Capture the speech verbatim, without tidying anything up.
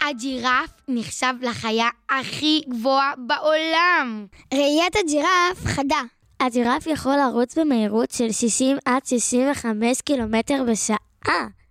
הג'ירף נחשב לחיה הכי גבוהה בעולם. ראיית הג'ירף חדה. הג'ירף יכול לרוץ במהירות של שישים עד שישים וחמש קילומטר בשעה.